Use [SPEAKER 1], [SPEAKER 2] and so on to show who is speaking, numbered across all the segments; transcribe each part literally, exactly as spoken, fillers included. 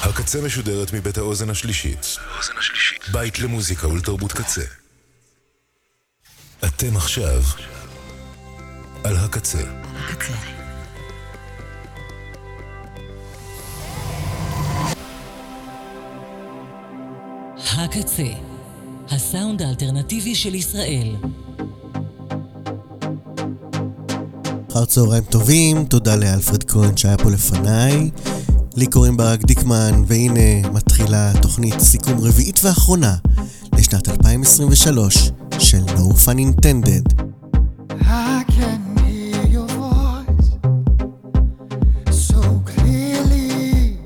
[SPEAKER 1] הקצה משודרת מבית האוזן השלישית. בית למוזיקה ולתרבות קצה. אתם עכשיו על הקצה. הקצה.
[SPEAKER 2] הקצה, הסאונד האלטרנטיבי של ישראל.
[SPEAKER 3] אחר צהריים טובים, תודה לאלפרד כהן שהיה פה לפניי. לי קוראים ברק דיקמן, והנה מתחילה תוכנית סיכום רביעית ואחרונה לשנת אלפיים עשרים ושלוש של No Fun Intended.
[SPEAKER 4] I can hear your voice so clearly.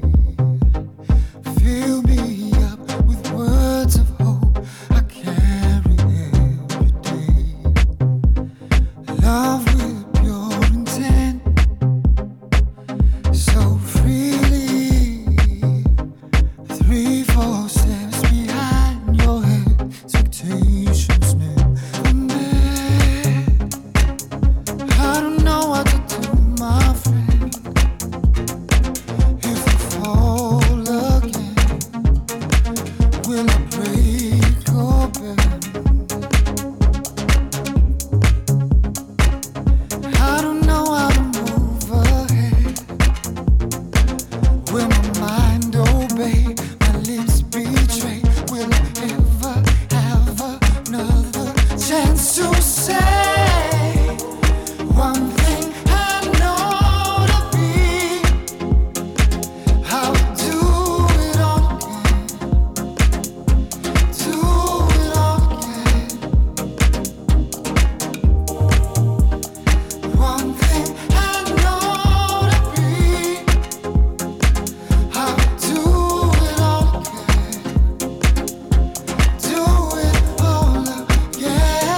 [SPEAKER 4] Fill me up with words of hope I carry every day. Love with pure intent, so freely. Three, four steps behind your expectations never met. I don't know what to do, my friend. If I fall again, will I break or bend? I don't know how to move ahead. Will my mind obey, my lips betray? Will I ever have another chance to say one thing I know to be? I'll do it all again, do it all again. One thing I know to be, I'll do it all again, do it all again.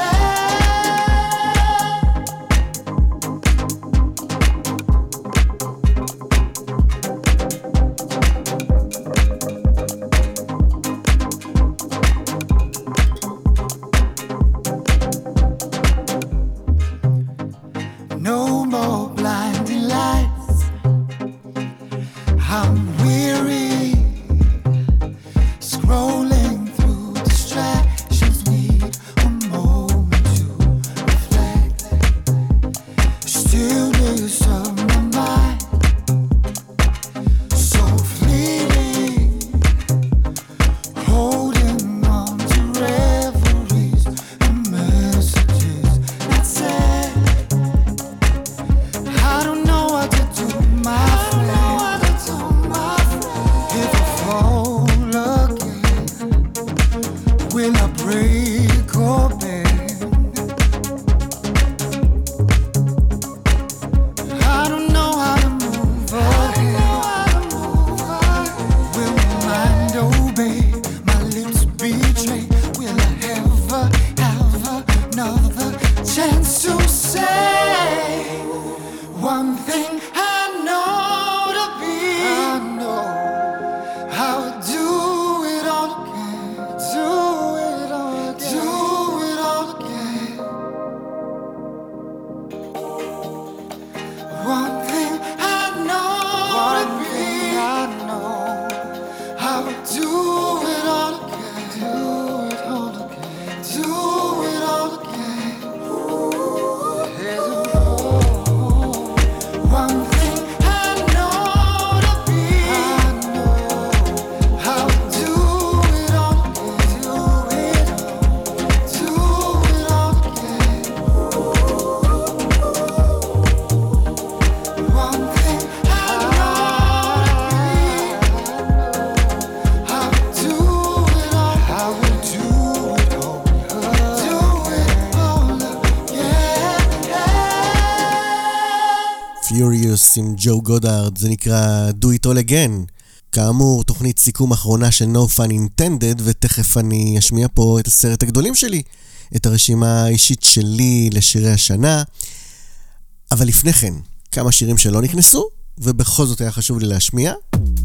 [SPEAKER 4] No more blinding lights. I'm weary, scrolling through distractions. Need a moment to reflect. Stillness of my mind, so fleeting. Holding on to reveries and messages that said, I don't know what to do, my friend. If I fall again, will I break or bend? I don't know how to move ahead. Will my mind obey, my lips betray? Will I ever have another chance to say one thing I know to be? I know I'll do it all again, do it all again, do it all again. One thing I know to be, I know I'll do it all again, do it all again, do it all again. One thing I know to be, I know I'll do it all again, do it all, do it all again. One thing I know to be, I'll do it all, I will do it all, do it all again.
[SPEAKER 3] Furious עם ג'ו גודארד, זה נקרא Do It All Again. כאמור, תוכנית סיכום אחרונה של No Fun Intended, ותכף אני אשמיע פה את הסרט הגדולים שלי, את הרשימה האישית שלי לשירי השנה. אבל לפני כן, כמה שירים שלא נכנסו, ובכל זאת היה חשוב לי להשמיע.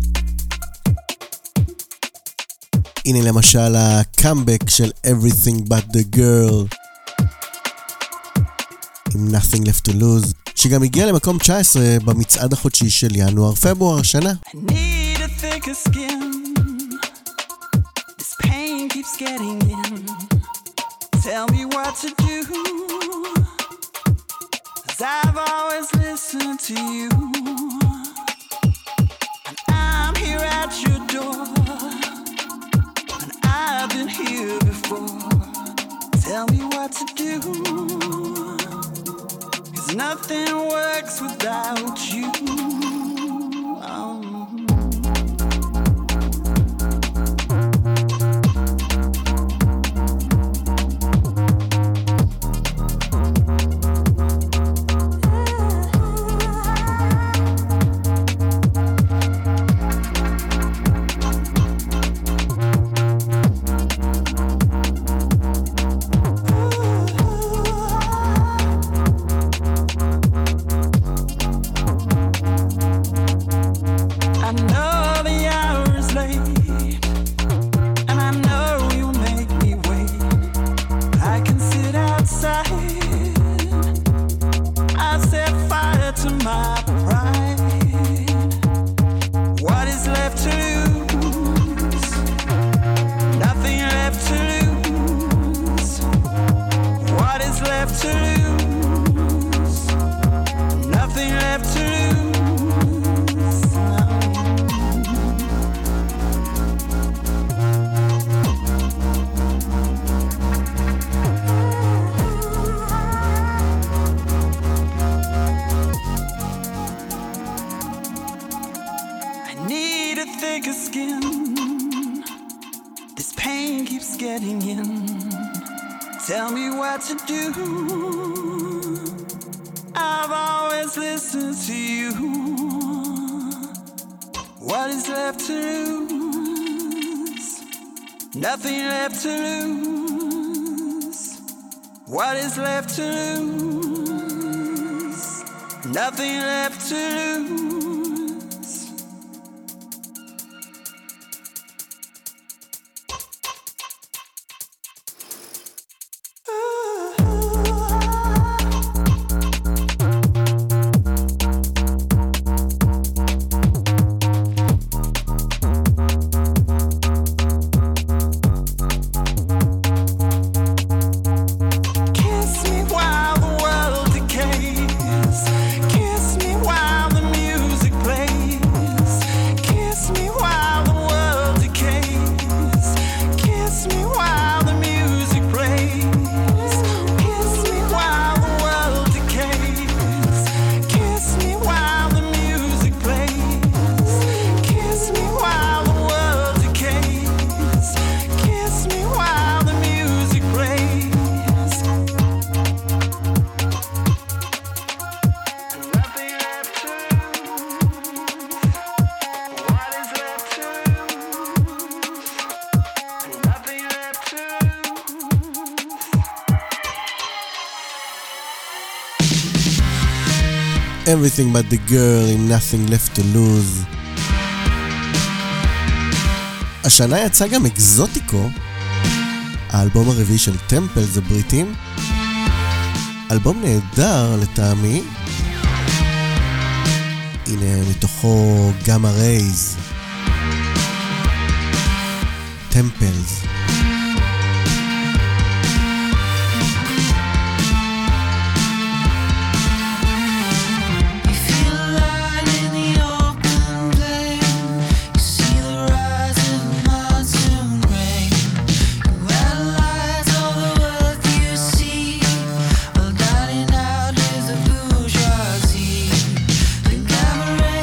[SPEAKER 3] הנה למשל הקאמבק של Everything But The Girl עם Nothing Left To Lose, שגם הגיע למקום תשע עשרה במצעד החודשי של ינואר-פברואר השנה.
[SPEAKER 5] I need to think thicker skin. This pain keeps getting in. Tell me what to do, 'cause I've always listened to you. And I'm here at your door, and I've been here before. Tell me what to do, 'cause nothing works without you. Oh. Tell me what to do. I've always listened to you. What is left to lose? Nothing left to lose. What is left to lose? Nothing left to lose.
[SPEAKER 3] Everything but the girl עם nothing left to lose. השנה יצא גם אקזוטיקו, האלבום הרביעי של טמפלס הבריטים. אלבום נהדר לטעמי. הנה מתוכו גאמה רייז, טמפלס.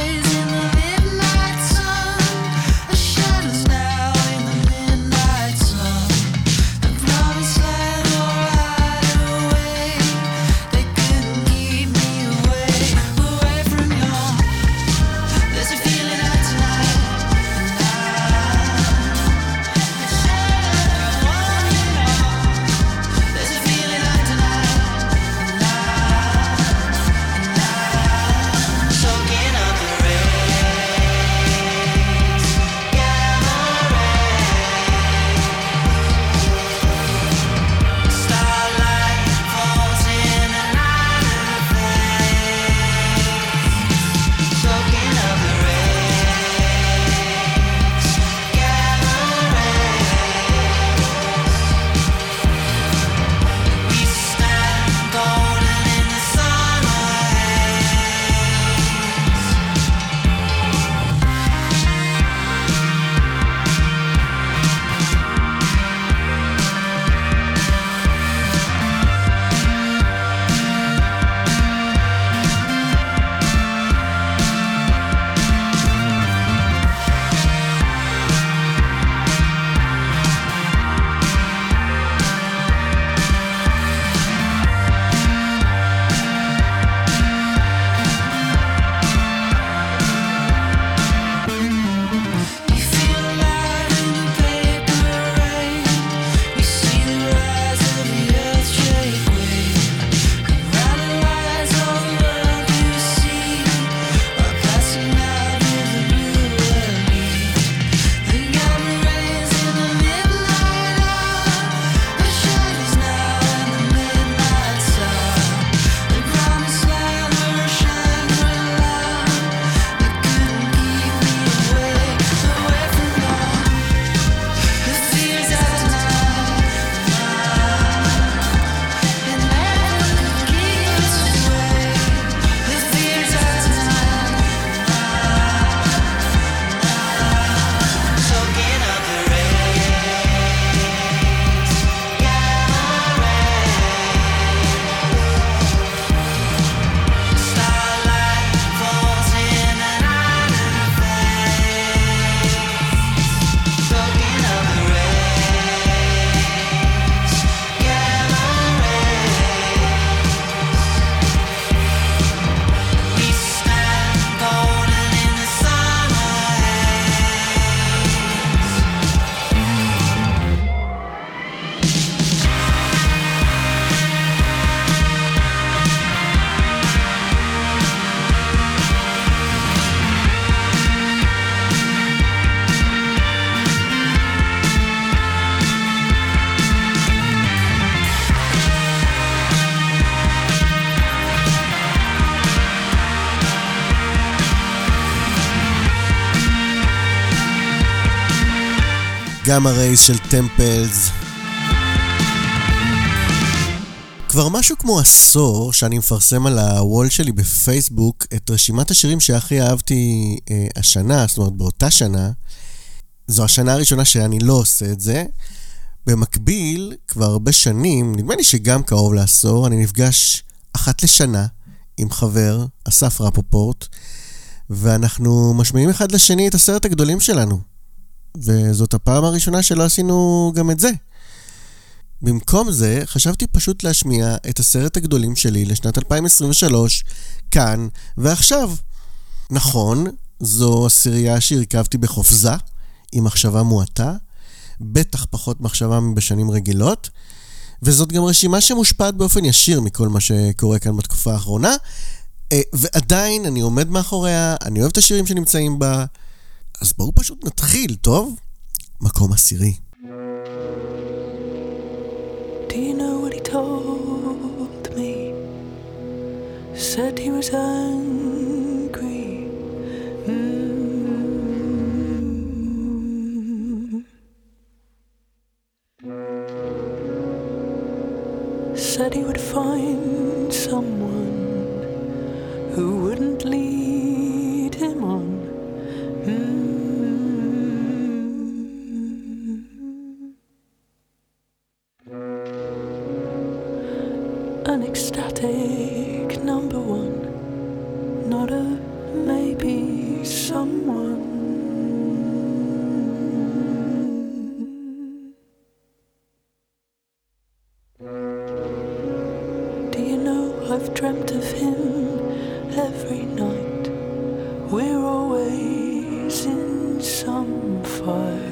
[SPEAKER 6] Shadows now in the midnight sun.
[SPEAKER 3] גאמה רייז של טמפלס. כבר משהו כמו עשור שאני מפרסם על הוול שלי בפייסבוק את רשימת השירים שהכי אהבתי אה, השנה, זאת אומרת באותה שנה. זו השנה הראשונה שאני לא עושה את זה. במקביל, כבר הרבה שנים, נדמה לי שגם קרוב לעשור, אני נפגש אחת לשנה עם חבר, אסף רפופורט, ואנחנו משמיעים אחד לשני את הסרט הגדולים שלנו. וזאת הפעם הראשונה שלא עשינו גם את זה. במקום זה, חשבתי פשוט להשמיע את הסרט הגדולים שלי לשנת אלפיים עשרים ושלוש, כאן ועכשיו. נכון, זו עשירייה שהרכבתי בחופזה, עם מחשבה מועטה, בטח פחות מחשבה מבשנים רגילות, וזאת גם רשימה שמושפעת באופן ישיר מכל מה שקורה כאן בתקופה האחרונה, ועדיין אני עומד מאחוריה, אני אוהב את השירים שנמצאים בה, אז בואו פשוט נתחיל, טוב? מקום עשירי.
[SPEAKER 6] Do you know what he told me? Said he was angry. Mm. Said he would find someone who wouldn't lead him on. Mm. An ecstatic number one, not a maybe someone. Do you know I've dreamt of him every night? We're always in some fight.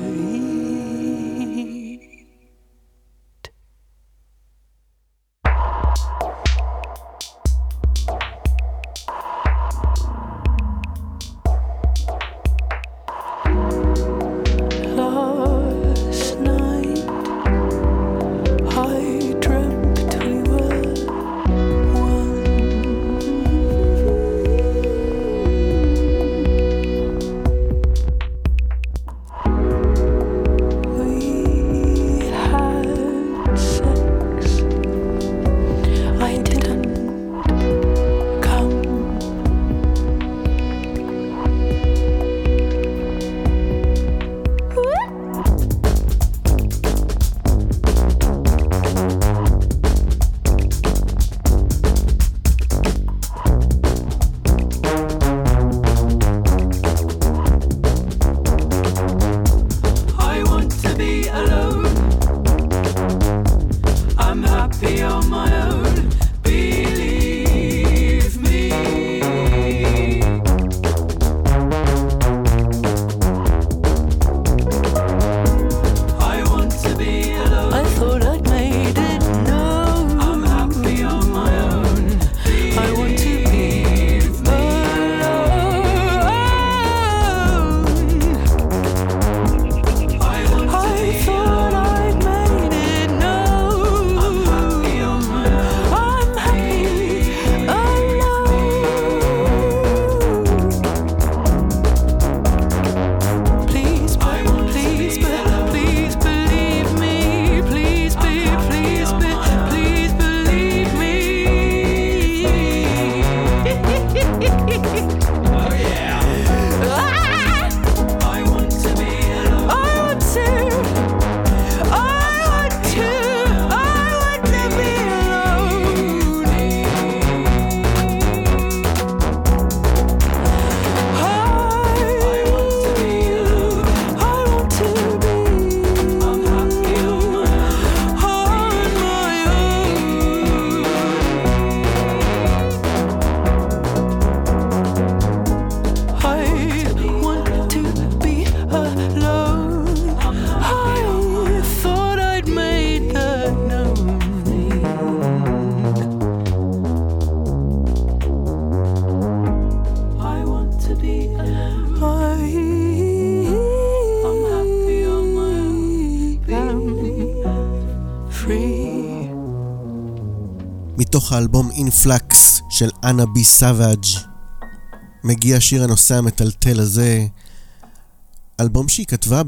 [SPEAKER 3] מתוך האלבום אינפלקס של אנה בי סאבאג' מגיע השיר הנושא המטלטל הזה, אלבום שהיא כתבה בעקבות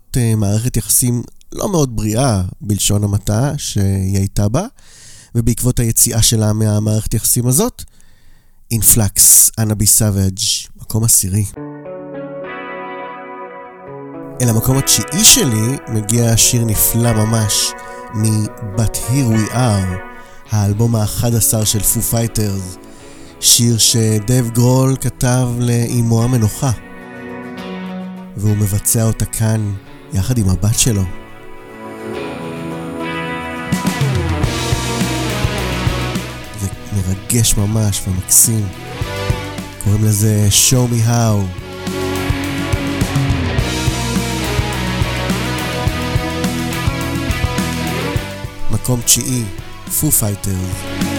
[SPEAKER 3] uh, מערכת יחסים לא מאוד בריאה בלשון המעטה שהיא הייתה בה, ובעקבות היציאה שלה מהמערכת יחסים הזאת, אינפלקס, אנה בי סאביג', מקום עשירי. אל המקום התשיעי שלי מגיע שיר נפלא ממש מ-But Here We Are, האלבום ה-אחד עשר של פו פייטרס, שיר שדייב גרול כתב לאמו המנוחה, והוא מבצע אותה כאן יחד עם הבת שלו. זה מרגש ממש ומקסים. קוראים לזה Show Me How. מקום תשיעי, פו פייטרס.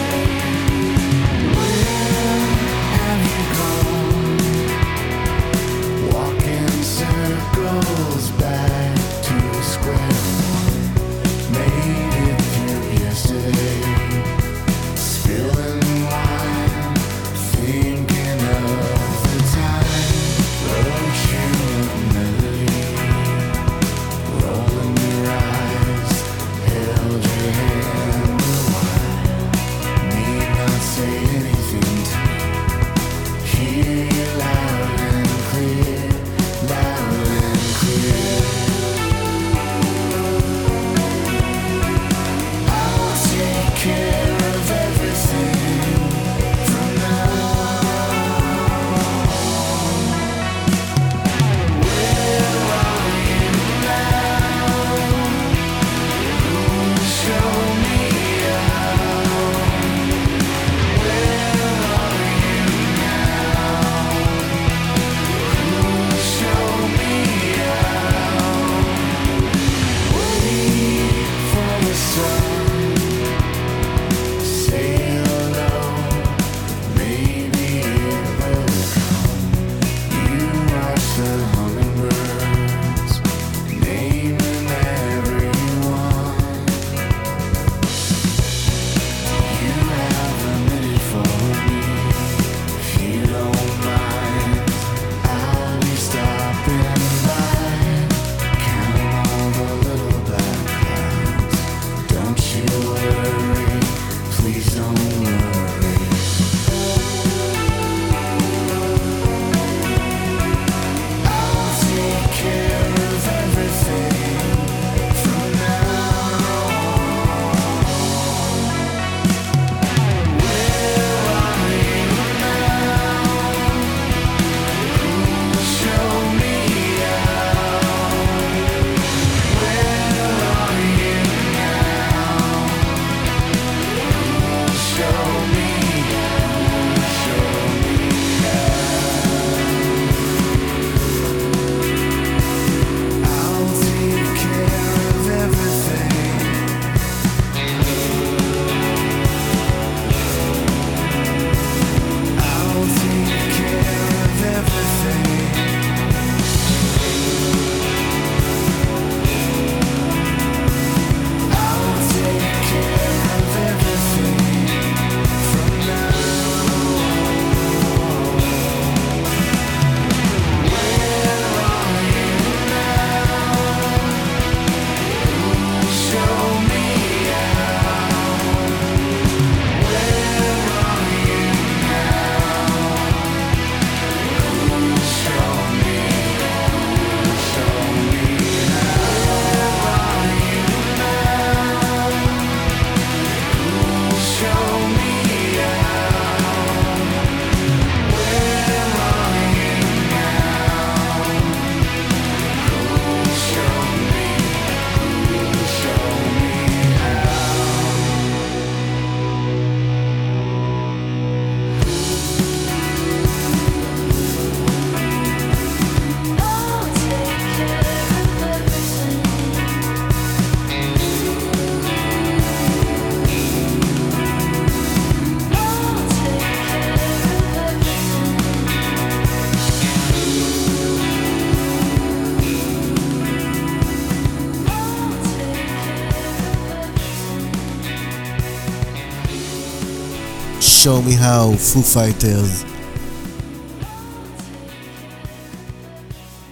[SPEAKER 3] Show Me How, Foo Fighters.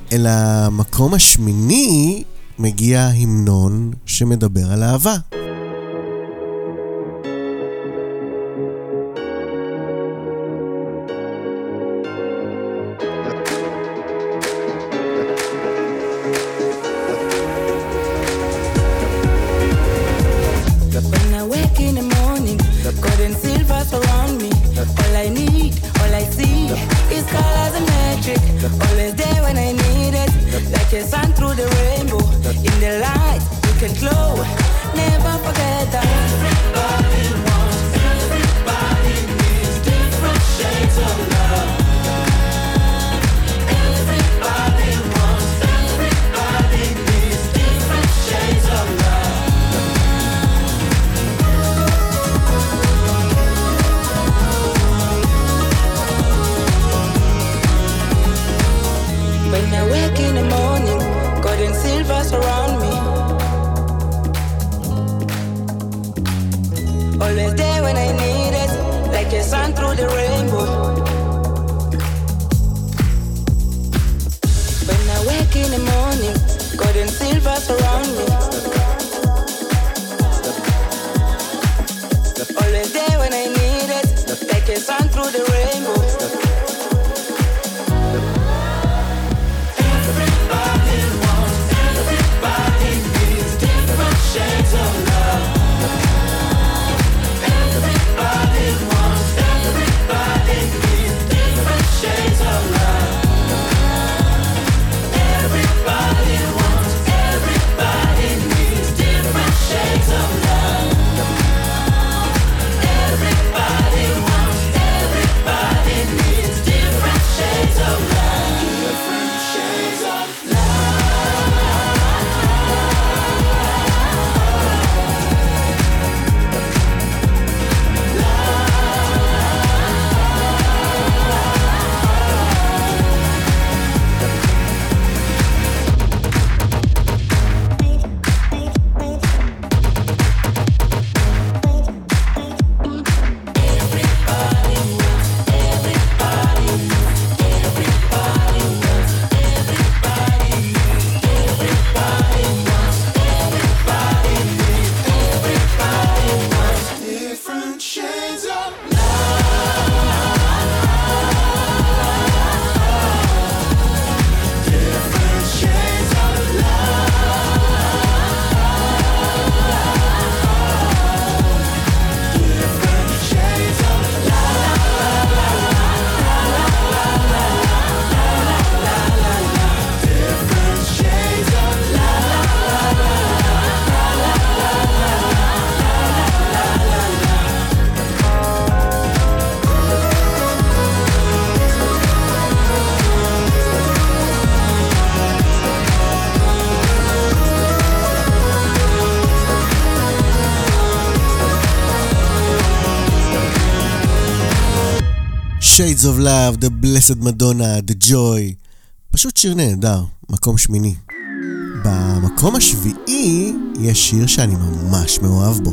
[SPEAKER 3] אל המקום השמיני מגיע המנון שמדבר על אהבה. Shades of Love, The Blessed Madonna, The Joy. פשוט שיר נהדר, מקום שמיני. במקום השביעי יש שיר שאני ממש מאוהב בו.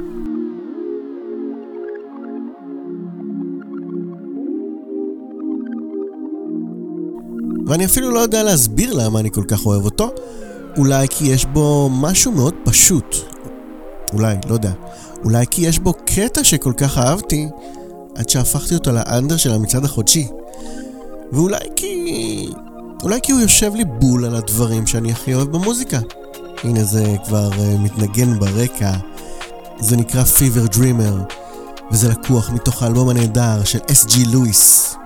[SPEAKER 3] ואני אפילו לא יודע להסביר למה אני כל כך אוהב אותו. אולי כי יש בו משהו מאוד פשוט. אולי, לא יודע. אולי כי יש בו קטע שכל כך אהבתי, עד שהפכתי אותו לאנדר של המצעד החודשי. ואולי כי... אולי כי הוא יושב לי בול על הדברים שאני הכי אוהב במוזיקה. הנה זה כבר uh, מתנגן ברקע. זה נקרא Fever Dreamer, וזה לקוח מתוך האלבום הנהדר של אס ג'י לואיס.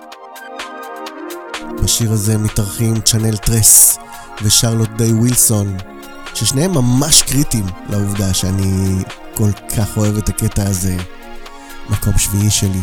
[SPEAKER 3] בשיר הזה מתארחים צ'אנל טרס ושרלוט דיי ווילסון, ששניהם ממש קריטיים לעובדה שאני כל כך אוהב את הקטע הזה. מקום שביעי שלי.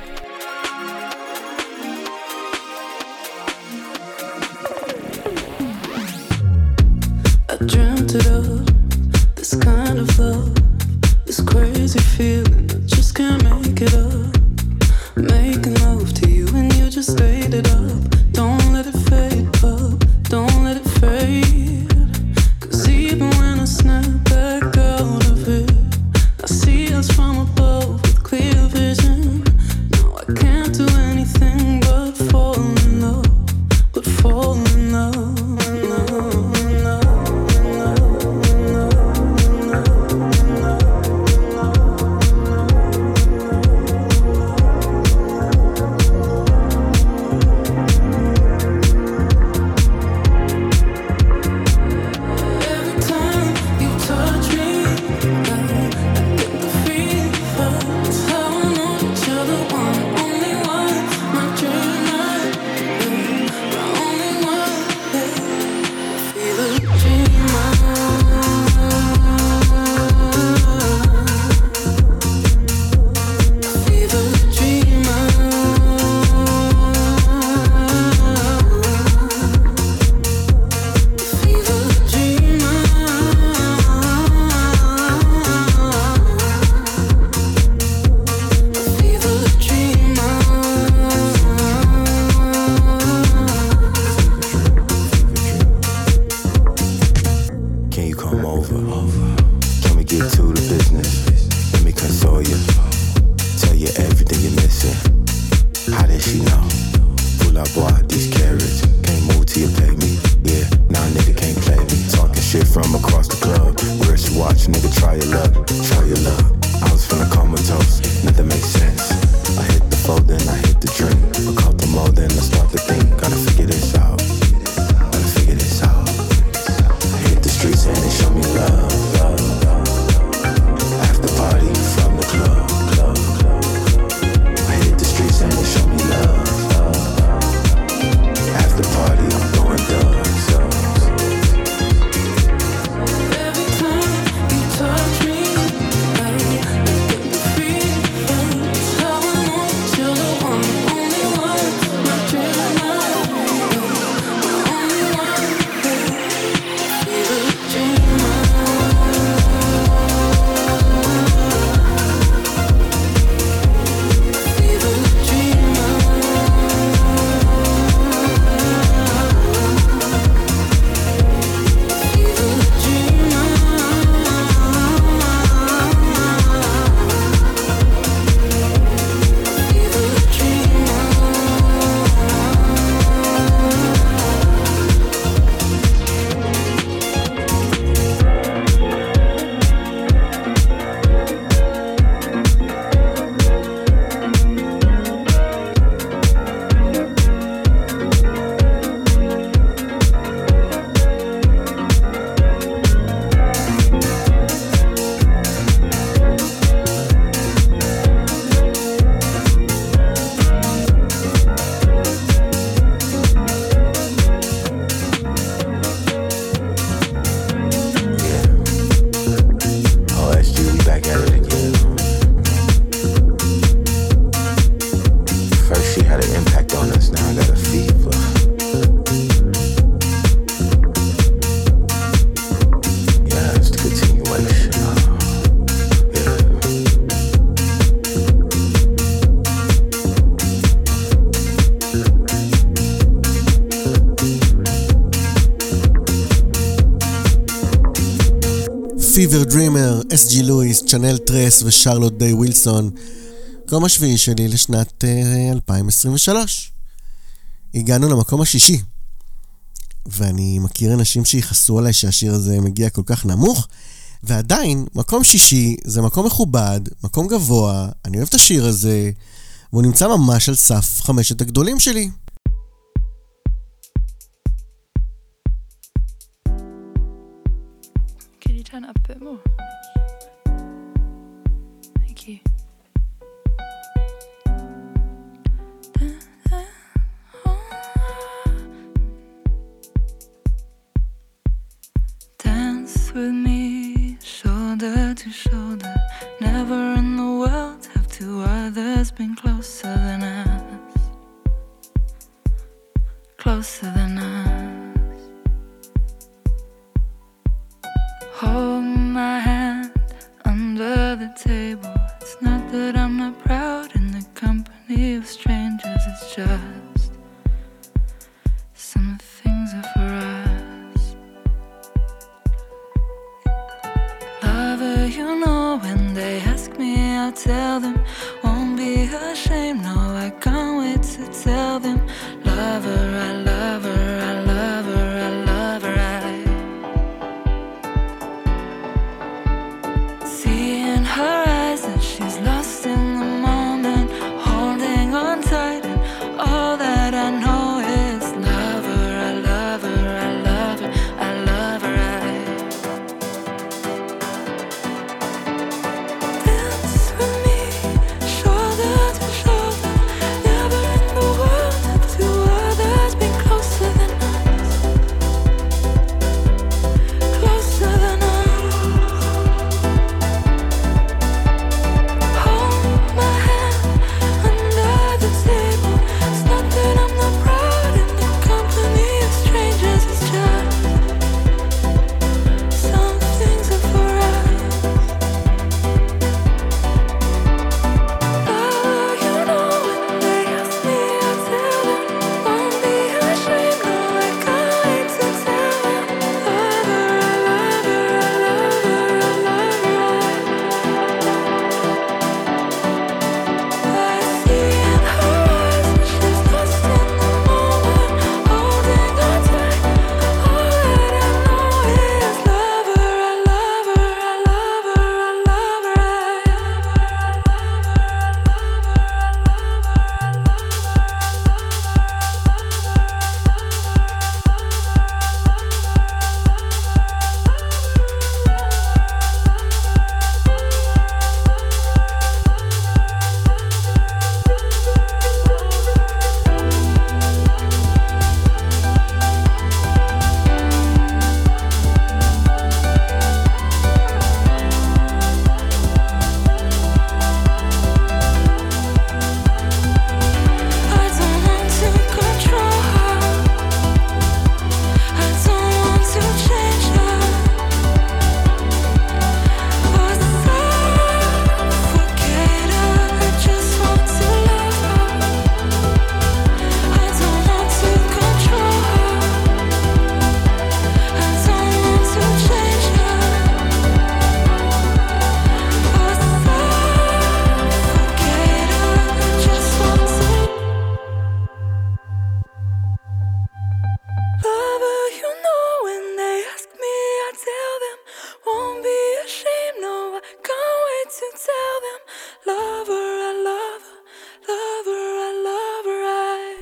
[SPEAKER 6] I dreamt it up, this kind of love, this crazy feeling, I just can't make it up. Making love to you and you just ate it up. Don't let it fade up, don't let it fade. Cause even when I snap back out of it, I see us from above with clear vision. No, I can't do anything but fall in love, but fall in love.
[SPEAKER 7] bitch, nigga, try your luck, try your luck. I was feeling comatose, nothing makes sense. I hit the fold, then I hit the drink. A couple more, then I start to think. Gotta figure this out, gotta figure this out. I hit the streets and they show me love, love, love. After party from the club, club, club. I hit the streets and they show me love, love, love. After party, I'm going dumb.
[SPEAKER 3] פיבר דרימר, אס ג'י לואיס, צ'אנל טרס ושרלוט דיי ווילסון. מקום השביעי שלי לשנת uh, אלפיים עשרים ושלוש. הגענו למקום השישי. ואני מכיר אנשים שיחסו עליי שהשיר הזה מגיע כל כך נמוך, ועדיין, מקום שישי זה מקום מכובד, מקום גבוה, אני אוהב את השיר הזה, והוא נמצא ממש על סף חמשת הגדולים שלי.
[SPEAKER 6] Could you turn it up a bit more? Thank you. Dance with me, shoulder to shoulder. Never in the world have two others been closer than us. Closer than us. Hold my hand under the table. It's not that I'm not proud in the company of strangers. It's just some things are for us. Lover, you know when they ask me, I'll tell them. Won't be ashamed, no, I can't wait to tell them. Lover, I love her, I love her, I love her, I see in her eyes that she's lost in the moment, holding on tight, and all that I know is love her, I love her, I love her, I love her, I dance with me, shoulder to shoulder. Never in the world have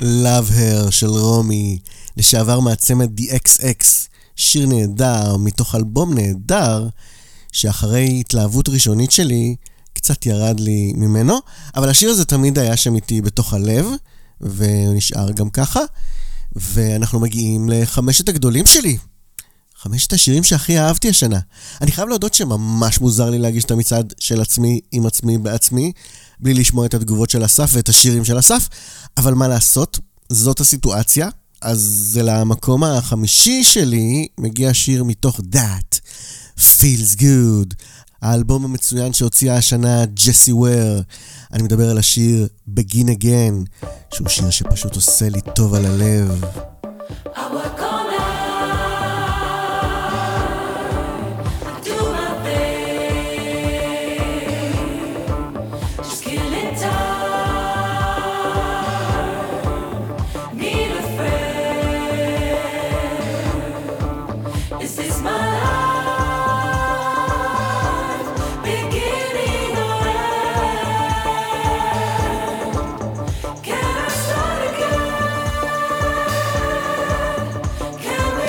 [SPEAKER 3] Love Her של רומי, לשעבר מעצמת די אקס אקס, שיר נהדר מתוך אלבום נהדר, שאחרי התלהבות ראשונית שלי, קצת ירד לי ממנו, אבל השיר הזה תמיד היה שם איתי בתוך הלב, ונשאר גם ככה, ואנחנו מגיעים לחמשת הגדולים שלי. חמשת השירים שהכי אהבתי השנה. אני חייב להודות שממש מוזר לי להגיש את המצעד של עצמי עם עצמי בעצמי, בלי לשמוע את התגובות של אסף ואת השירים של אסף, אבל מה לעשות? זאת הסיטואציה. אז למקום החמישי שלי מגיע שיר מתוך That, Feels Good, האלבום המצוין שהוציאה השנה ג'סי וויר. אני מדבר על השיר Begin Again, שהוא שיר שפשוט עושה לי טוב על הלב.
[SPEAKER 8] Can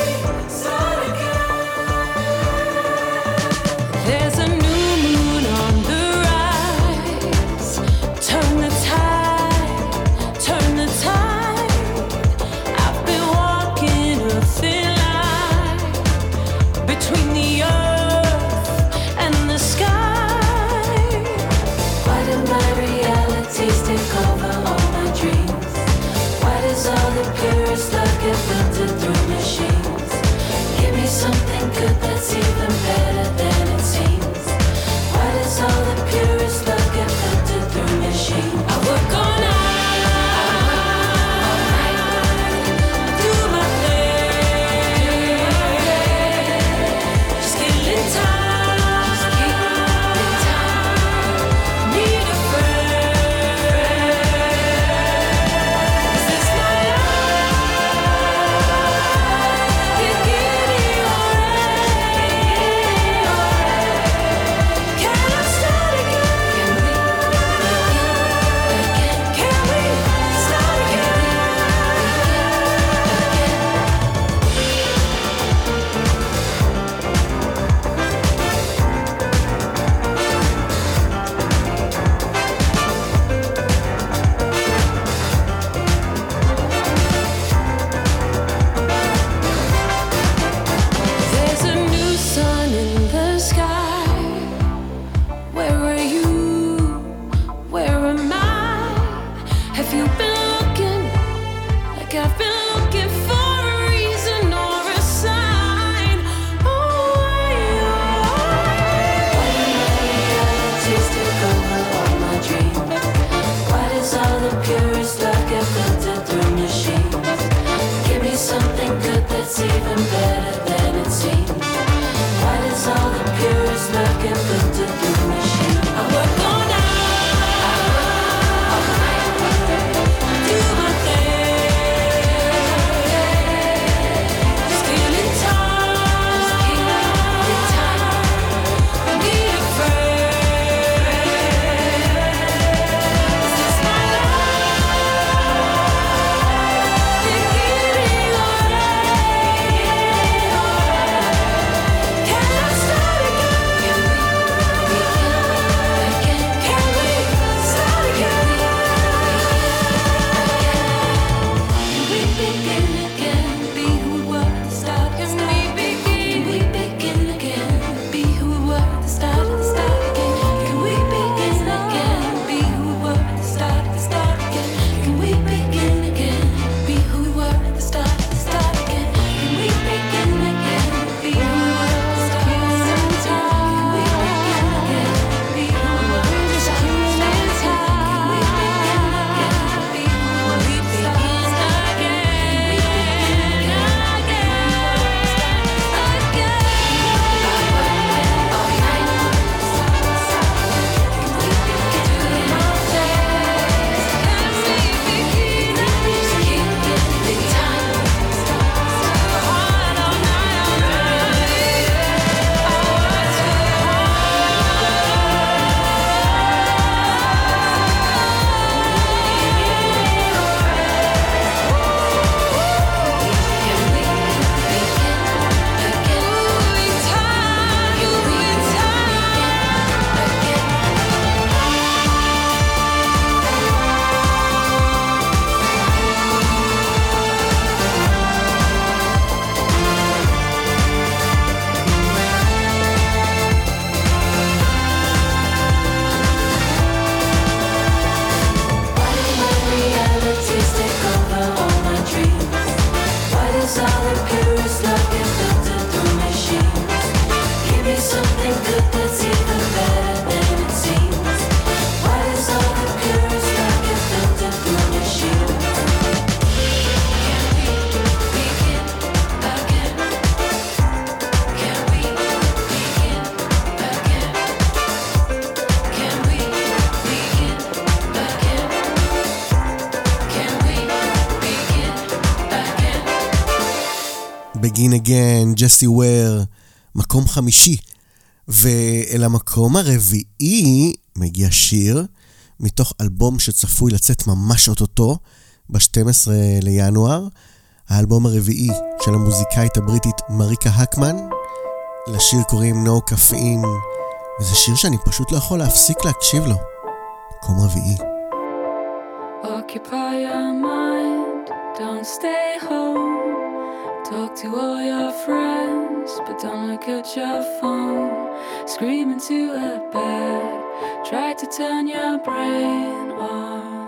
[SPEAKER 3] Begin Again, ג'סי וויר, מקום חמישי. ואל המקום הרביעי מגיע שיר מתוך אלבום שצפוי לצאת ממש אוטוטו ב-שנים עשר לינואר, האלבום הרביעי של המוזיקאית הבריטית מריקה הקמן. לשיר קוראים No Caffeine, וזה שיר שאני פשוט לא יכול להפסיק להקשיב לו. מקום רביעי.
[SPEAKER 6] Occupy your mind, don't stay home. Talk to all your friends, but don't look at your phone. Scream into a bed, try to turn your brain off.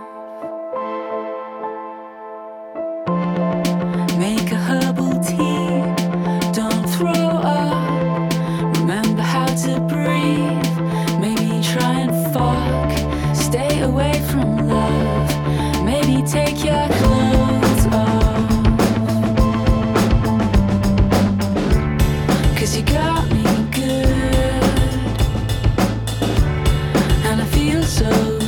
[SPEAKER 6] Make a herbal tea, don't throw up. Remember how to breathe, maybe try and fuck. Stay away from love, maybe take your clothes off. Cause you got me good, and I feel so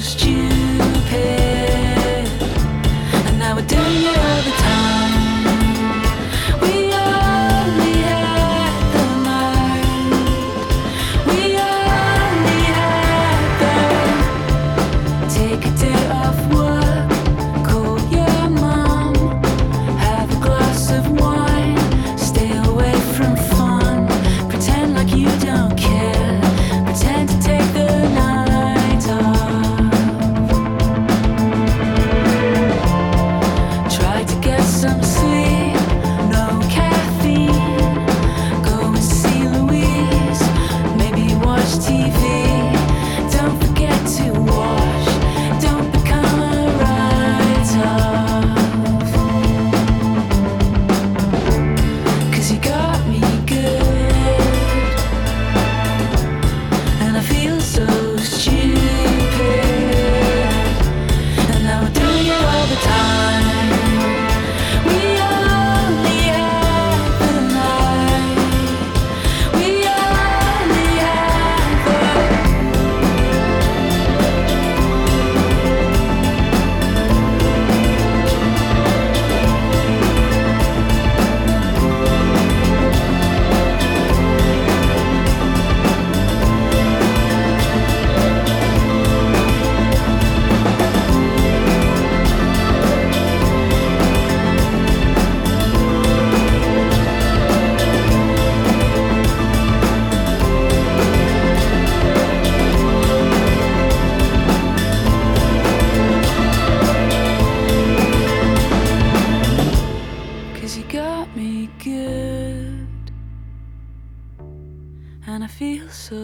[SPEAKER 6] stupid. And now we're doing it all the time. We only had the night. We only had the. Take a day off work, call your mom, have a glass of wine, stay away from fun, pretend like you don't care, pretend to take the night off. Try to get some sleep, no caffeine, go and see Louise, maybe watch T V. Don't forget to wash, don't become a write-off. Cause you got me good, and I feel so stupid. And now we're doing it all the time. We only had the night. We only had the. Cause you got me good, and I feel so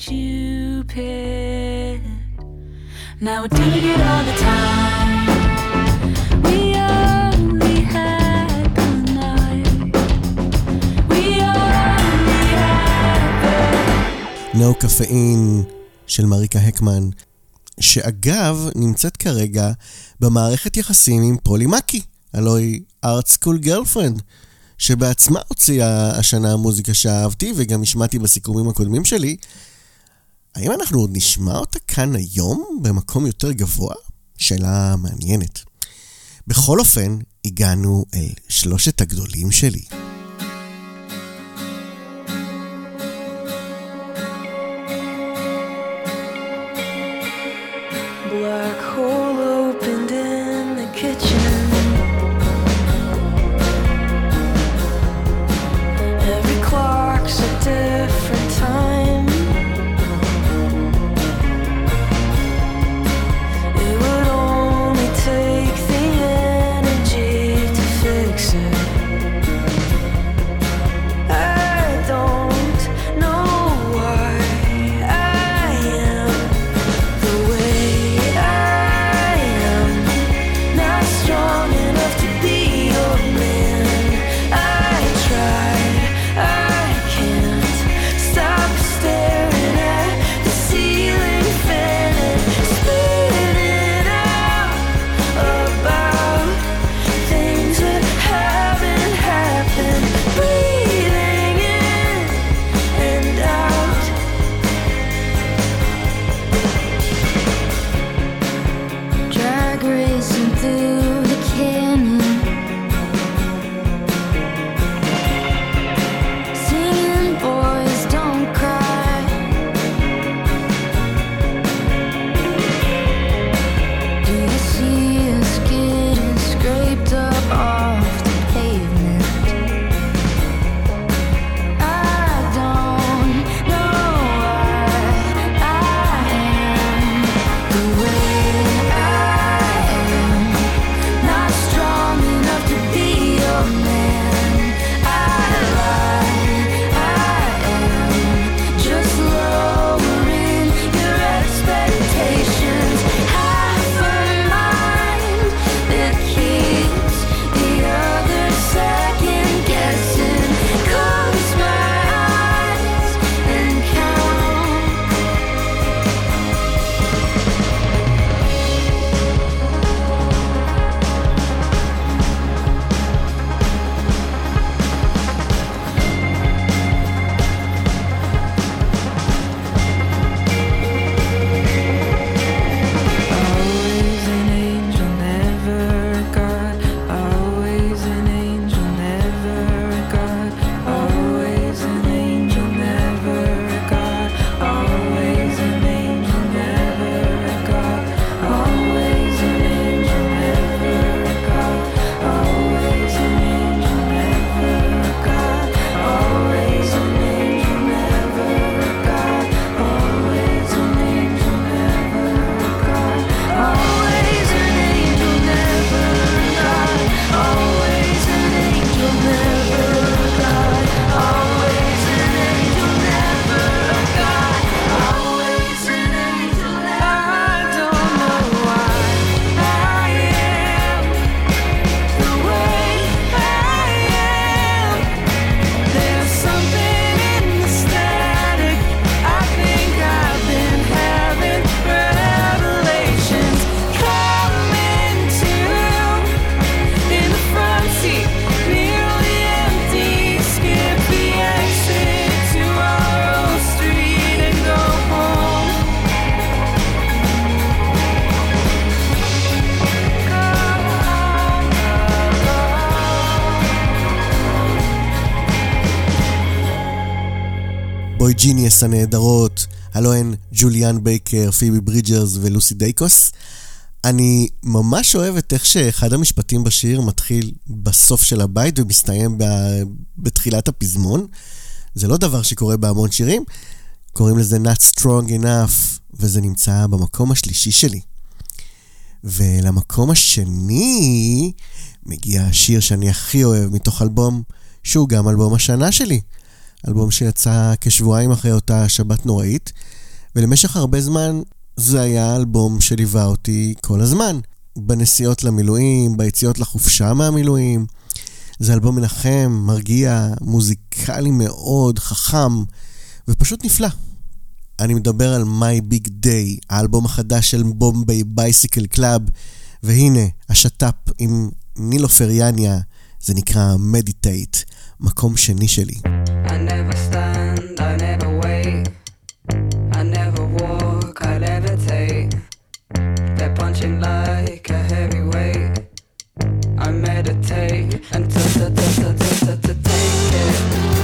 [SPEAKER 6] stupid. Now we're doing it all the time. We only had the night. We only had the.
[SPEAKER 3] No Caffeine של מריקה הקמן, שאגב נמצאת כרגע במערכת יחסים עם פולי מקי, הלוא היא Art School Girlfriend, שבעצמה הוציאה השנה מוזיקה שאהבתי וגם השמעתי בסיכומים הקודמים שלי. האם אנחנו עוד נשמע אותה כאן היום במקום יותר גבוה? שאלה מעניינת. בכל אופן, הגענו אל שלושת הגדולים שלי.
[SPEAKER 6] Black hole opened in the kitchen. Every clock's a different time. It would only take the energy to fix it.
[SPEAKER 3] בוי ג'יניאס הנהדרות, הלו הן ג'וליאן בייקר, פיבי ברידג'רס ולוסי דייקוס. אני ממש אוהב את איך שאחד המשפטים בשיר מתחיל בסוף של הבית ומסתיים בתחילת הפזמון. זה לא דבר שקורה בהמון שירים, קוראים לזה Not Strong Enough, וזה נמצא במקום השלישי שלי. ולמקום השני מגיע השיר שאני הכי אוהב מתוך אלבום שהוא גם אלבום השנה שלי, אלבום שיצא כשבועיים אחרי אותה שבת נוראית, ולמשך הרבה זמן זה היה אלבום שליווה אותי כל הזמן, בנסיעות למילואים, ביציאות לחופשה מהמילואים. זה אלבום מנחם, מרגיע, מוזיקלי מאוד, חכם ופשוט נפלא. אני מדבר על My Big Day, האלבום החדש של בומביי בייסיקל קלאב, והנה השטאפ עם נילו פריאניה, זה נקרא Meditate, מקום שני שלי.
[SPEAKER 6] I never stand, I never wait, I never walk, I levitate. They're punching like a heavyweight. I meditate and t-t-t-t-t-t-take it.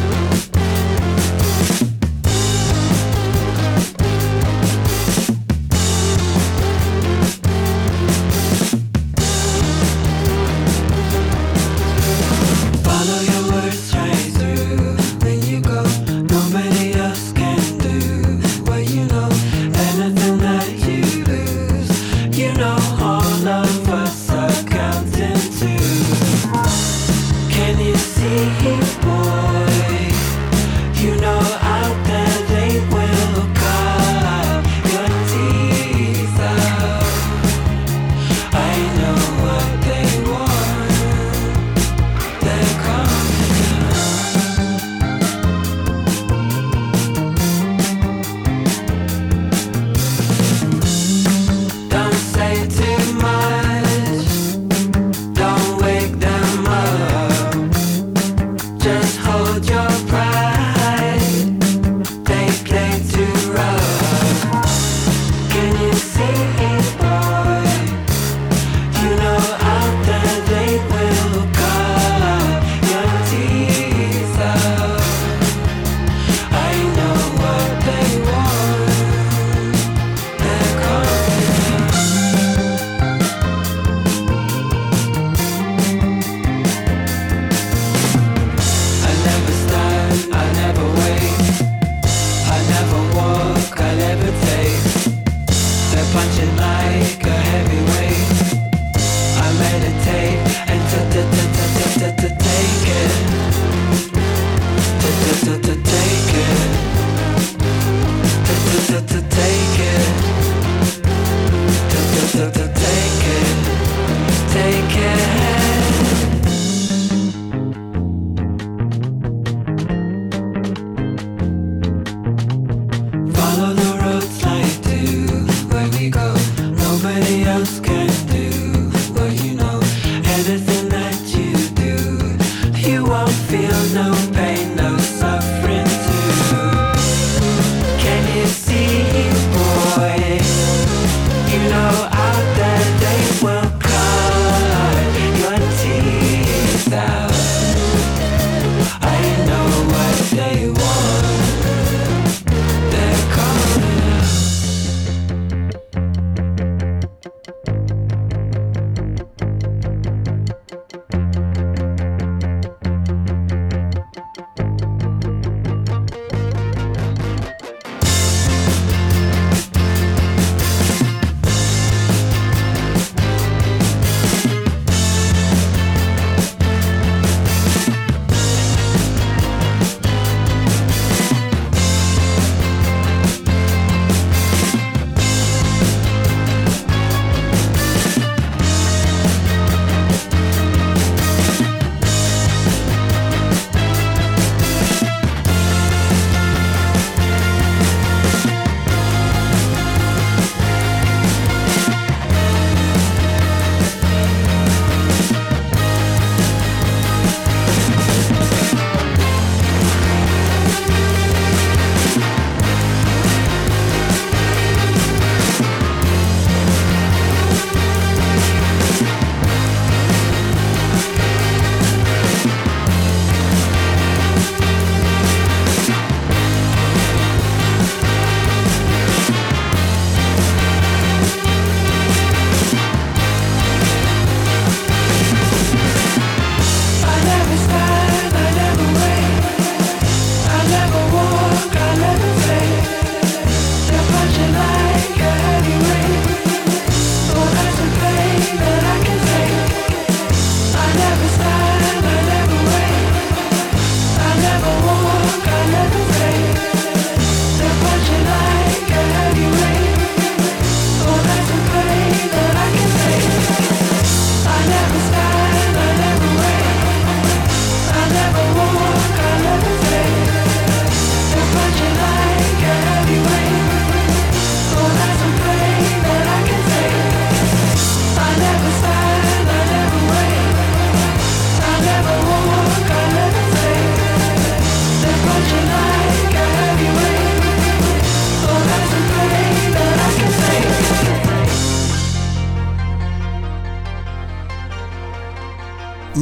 [SPEAKER 6] Follow your words straight through. When you go, nobody else can do what you know. Anything that you lose, you know all of us are counting too. Can you see, boy? You know out there they will cut your teeth out. I know what they want. They're coming. Don't say too much. Don't wake them up. Just hold your pride. They play too rough. Can you see it, boy? You know out there they will cut your teeth out. I know what they want. They're coming. I never stand, I never wait, I never walk, I levitate. They're punching like a heavyweight. I meditate and t-t-t-t-t-t-take it. T-t-t-t-take it. T-t-t-t-take it. T-t-t-t-take it. Take it. Follow the roads like do where we go. Nobody else can do what you know. Anything that you do, you won't feel no pain, no suffering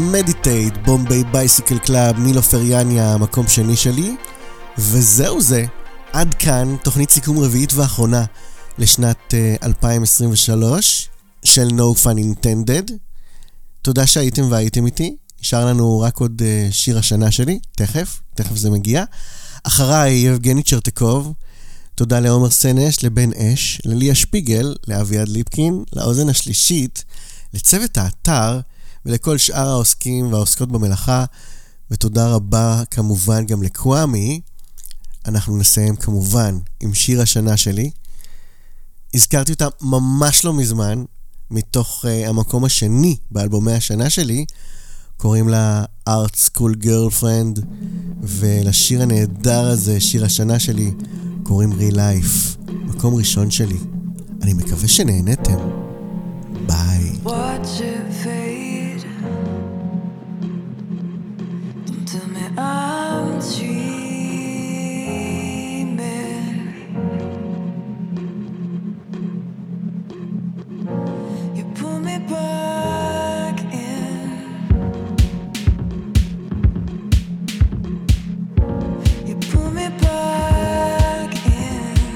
[SPEAKER 3] מדיטייט, בומביי בייסיקל קלאב, נילו פריאניה, המקום שני שלי. וזהו זה, עד כאן תוכנית סיכום רביעית ואחרונה לשנת uh, אלפיים עשרים ושלוש של No Fun Intended. תודה שהייתם והייתם איתי. נשאר לנו רק עוד uh, שיר השנה שלי, תכף, תכף זה מגיע. אחריי יבגני צ'רטקוב. תודה לעומר סנש, לבן אש, לליה שפיגל, לאביעד ליפקין, לאוזן השלישית, לצוות האתר ולכל שאר העוסקים והעוסקות במלאכה. ותודה רבה כמובן גם לקוואמי. אנחנו נסיים כמובן עם שיר השנה שלי. הזכרתי אותה ממש לא מזמן, מתוך uh, המקום השני באלבומי השנה שלי. קוראים לה Art School Girlfriend, ולשיר הנהדר הזה, שיר השנה שלי, קוראים Real Life, מקום ראשון שלי. אני מקווה שנהנתם. ביי.
[SPEAKER 6] Watch it fade. Don't tell me I'm dreaming. You pull me back in. You pull me back in.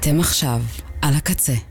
[SPEAKER 8] אתם עכשיו על הקצה.